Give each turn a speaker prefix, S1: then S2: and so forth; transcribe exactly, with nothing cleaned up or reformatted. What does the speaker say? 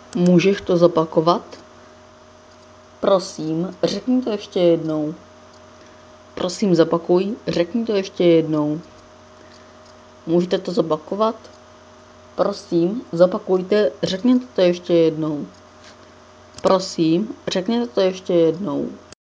S1: Můžeš to zopakovat? Prosím, řekni to ještě jednou. Prosím, zopakuj, řekni to ještě jednou. Můžete to zopakovat? Prosím, zopakujte, řekněte to ještě jednou. Prosím, řekněte to ještě jednou.